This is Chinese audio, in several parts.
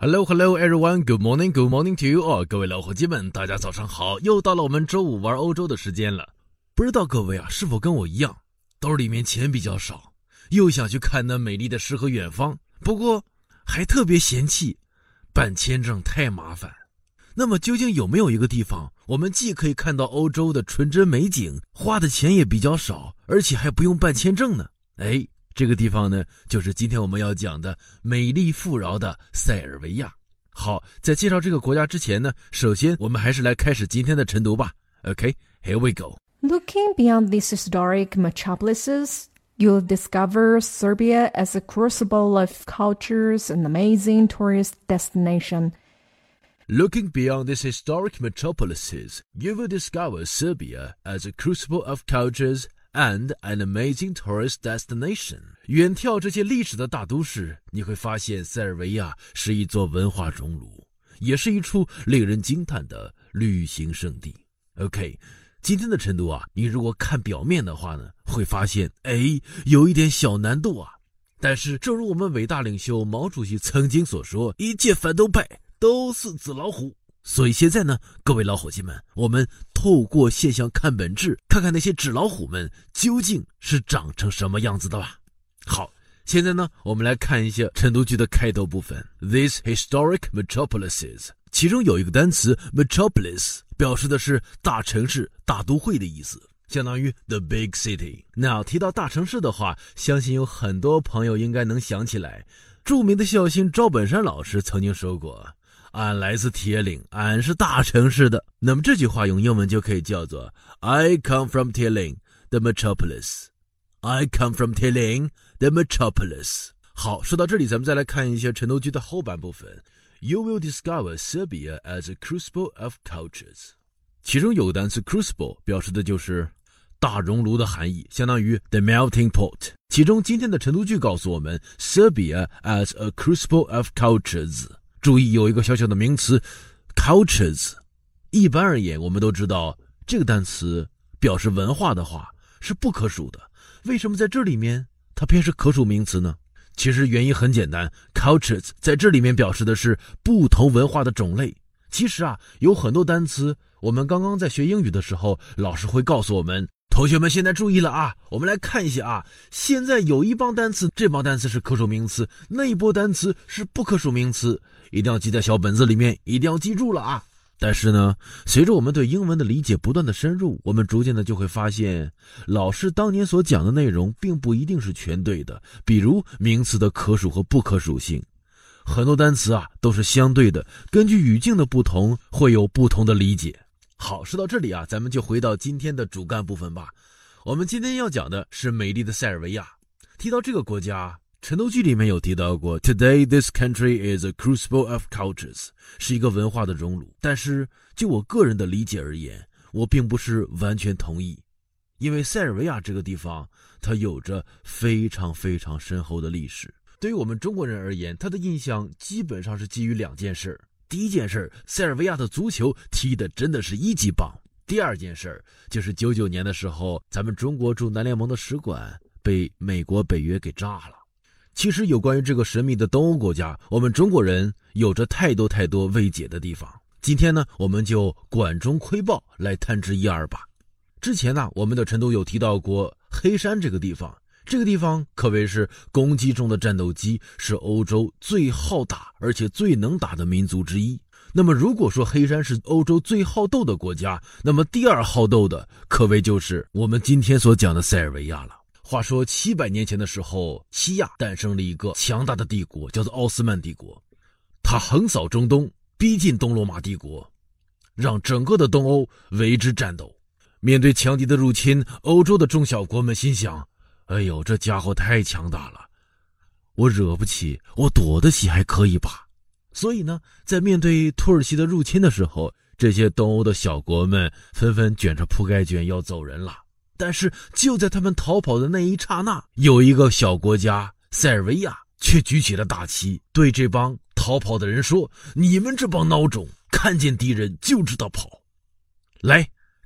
Hello everyone, good morning to you all， 各位老伙计们，大家早上好，又到了我们周五玩欧洲的时间了。不知道各位是否跟我一样，兜里面钱比较少，又想去看那美丽的诗和远方，不过还特别嫌弃办签证太麻烦。那么究竟有没有一个地方，我们既可以看到欧洲的纯真美景，花的钱也比较少，而且还不用办签证呢？这个地方呢，就是今天我们要讲的美丽富饶的塞尔维亚。好，在介绍这个国家之前呢，首先我们还是来开始今天的晨读吧。Okay, here we go. Looking beyond these historic metropolises, you'll discover Serbia as a crucible of cultures and amazing tourist destination. Looking beyond these historic metropolises, you will discover Serbia as a crucible of cultures and an amazing tourist destination. 远眺这些历史的大都市，你会发现塞尔维亚是一座文化熔炉，也是一处令人惊叹的旅行胜地。OK， 今天的晨读你如果看表面的话呢，会发现有一点小难度但是正如我们伟大领袖毛主席曾经所说，一切反动派都是纸老虎。所以现在呢，各位老伙计们，我们透过现象看本质，看看那些纸老虎们究竟是长成什么样子的吧。好，现在呢，我们来看一下晨读句的开头部分。 These historic metropolises， 其中有一个单词 metropolis， 表示的是大城市、大都会的意思，相当于 the big city。 那提到大城市的话，相信有很多朋友应该能想起来，著名的校星赵本山老师曾经说过，俺来自铁岭，俺是大城市的。那么这句话用英文就可以叫做 I come from 铁岭 the metropolis。 I come from 铁岭 the metropolis。 好，说到这里，咱们再来看一下晨读句的后半部分。 You will discover Serbia as a crucible of cultures。 其中有个单词 crucible， 表示的就是大熔炉的含义，相当于 the melting pot。 其中今天的晨读句告诉我们 Serbia as a crucible of cultures。注意有一个小小的名词 cultures。 一般而言，我们都知道这个单词表示文化的话是不可数的，为什么在这里面它偏是可数名词呢？其实原因很简单， cultures 在这里面表示的是不同文化的种类。其实有很多单词我们刚刚在学英语的时候，老师会告诉我们，同学们现在注意了我们来看一下现在有一帮单词，这帮单词是可数名词，那一波单词是不可数名词，一定要记在小本子里面，一定要记住了但是呢，随着我们对英文的理解不断的深入，我们逐渐的就会发现，老师当年所讲的内容并不一定是全对的。比如名词的可数和不可数性，很多单词都是相对的，根据语境的不同会有不同的理解。好，说到这里咱们就回到今天的主干部分吧。我们今天要讲的是美丽的塞尔维亚。提到这个国家，晨读句里面有提到过 Today this country is a crucible of cultures， 是一个文化的熔炉。但是就我个人的理解而言，我并不是完全同意。因为塞尔维亚这个地方它有着非常非常深厚的历史。对于我们中国人而言，它的印象基本上是基于两件事。第一件事，塞尔维亚的足球踢得真的是一级棒。第二件事就是99年的时候，咱们中国驻南联盟的使馆被美国北约给炸了。其实有关于这个神秘的东欧国家，我们中国人有着太多未解的地方。今天呢，我们就管中窥豹来探知一二吧。之前我们的晨读有提到过黑山这个地方，这个地方可谓是攻击中的战斗机，是欧洲最好打而且最能打的民族之一。那么如果说黑山是欧洲最好斗的国家，那么第二好斗的可谓就是我们今天所讲的塞尔维亚了。话说700年前的时候，西亚诞生了一个强大的帝国，叫做奥斯曼帝国。它横扫中东，逼近东罗马帝国，让整个的东欧为之战斗。面对强敌的入侵，欧洲的中小国们心想，哎呦，这家伙太强大了，我惹不起，我躲得起还可以吧。所以呢，在面对土耳其的入侵的时候，这些东欧的小国们纷纷卷着铺盖卷要走人了。但是就在他们逃跑的那一刹那，有一个小国家塞尔维亚却举起了大旗，对这帮逃跑的人说，你们这帮孬种，看见敌人就知道跑，来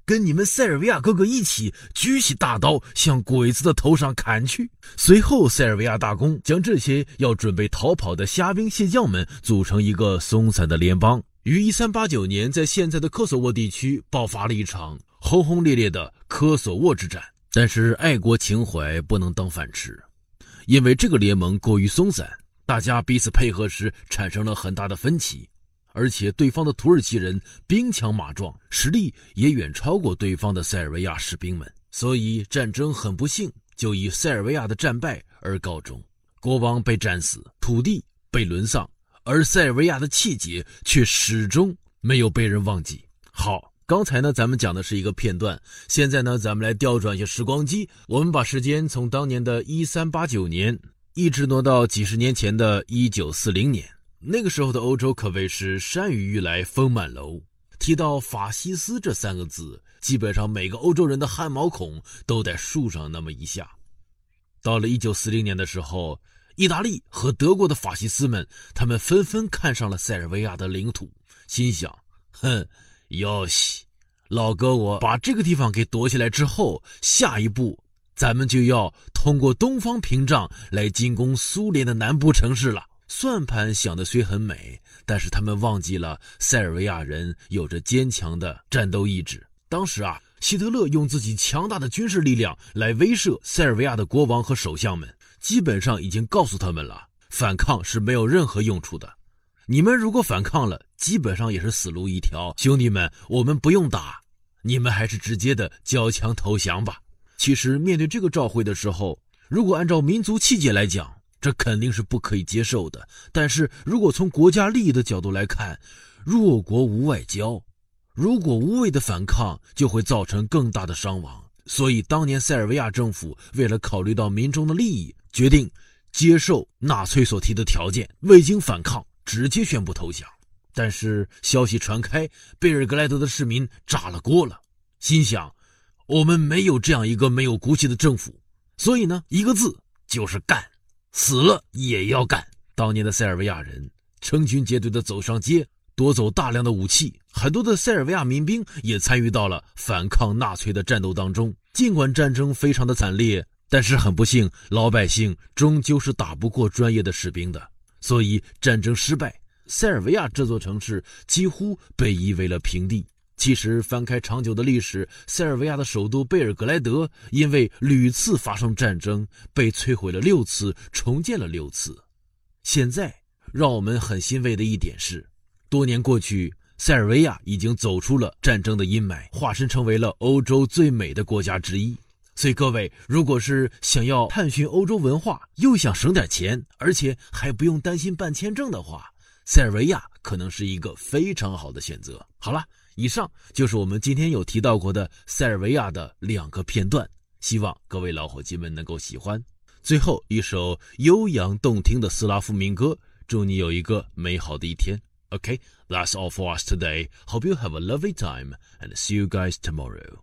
跟你们塞尔维亚哥哥一起举起大刀向鬼子的头上砍去。随后塞尔维亚大公将这些要准备逃跑的虾兵蟹将们组成一个松散的联邦，于1389年在现在的科索沃地区爆发了一场轰轰烈烈的科索沃之战。但是爱国情怀不能当饭吃，因为这个联盟过于松散，大家彼此配合时产生了很大的分歧，而且对方的土耳其人兵强马壮，实力也远超过对方的塞尔维亚士兵们，所以战争很不幸就以塞尔维亚的战败而告终。国王被战死，土地被沦丧，而塞尔维亚的气节却始终没有被人忘记。好，刚才呢咱们讲的是一个片段，现在呢咱们来调转一下时光机，我们把时间从当年的1389年一直挪到几十年前的1940年。那个时候的欧洲可谓是山雨欲来风满楼，提到法西斯这3个字，基本上每个欧洲人的汗毛孔都得竖上那么一下。到了1940年的时候，意大利和德国的法西斯们，他们纷纷看上了塞尔维亚的领土，心想，哟西，老哥我把这个地方给夺下来之后，下一步咱们就要通过东方屏障来进攻苏联的南部城市了。算盘想的虽很美，但是他们忘记了塞尔维亚人有着坚强的战斗意志。当时希特勒用自己强大的军事力量来威慑塞尔维亚的国王和首相们，基本上已经告诉他们了，反抗是没有任何用处的，你们如果反抗了，基本上也是死路一条，兄弟们，我们不用打，你们还是直接的交枪投降吧。其实面对这个召会的时候，如果按照民族气节来讲，这肯定是不可以接受的，但是如果从国家利益的角度来看，弱国无外交，如果无谓的反抗就会造成更大的伤亡，所以当年塞尔维亚政府为了考虑到民众的利益，决定接受纳粹所提的条件，未经反抗直接宣布投降。但是消息传开，贝尔格莱德的市民炸了锅了，心想，我们没有这样一个没有骨气的政府，所以呢，一个字就是干，死了也要干。当年的塞尔维亚人成群结队地走上街，夺走大量的武器，很多的塞尔维亚民兵也参与到了反抗纳粹的战斗当中。尽管战争非常的惨烈，但是很不幸，老百姓终究是打不过专业的士兵的，所以战争失败，塞尔维亚这座城市几乎被夷为了平地。其实翻开长久的历史，塞尔维亚的首都贝尔格莱德因为屡次发生战争，被摧毁了6次，重建了6次。现在让我们很欣慰的一点是，多年过去，塞尔维亚已经走出了战争的阴霾，化身成为了欧洲最美的国家之一。所以各位，如果是想要探寻欧洲文化，又想省点钱，而且还不用担心办签证的话，塞尔维亚可能是一个非常好的选择。好了，以上就是我们今天有提到过的塞尔维亚的2个片段，希望各位老伙计们能够喜欢。最后一首悠扬动听的斯拉夫民歌，祝你有一个美好的一天。Okay, that's all for us today. Hope you have a lovely time and see you guys tomorrow.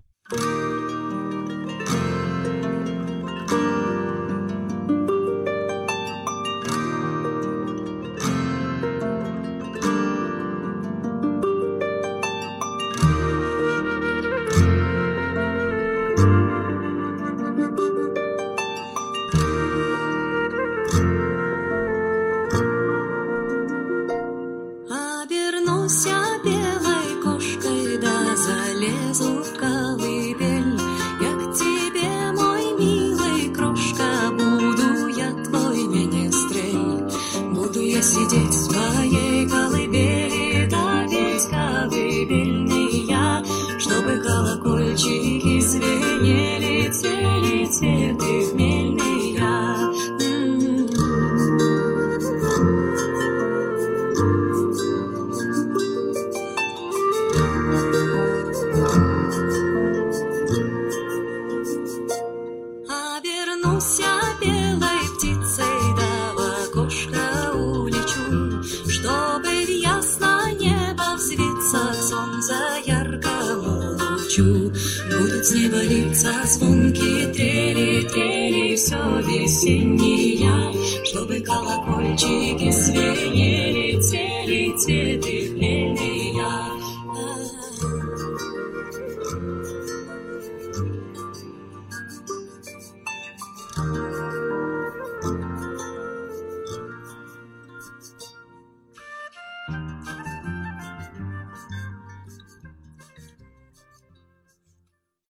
Сидеть в своей колыбели, да петь колыбельные я, чтобы колокольчики звенели, те летели в мельные я. Обернусь я белой птицей, да в окошко улечу, чтобы в ясное небо взвиться к солнца яркому лучу. Будут с неба литься звонкие трели, трели все весенние, чтобы колокольчики звенели, те летели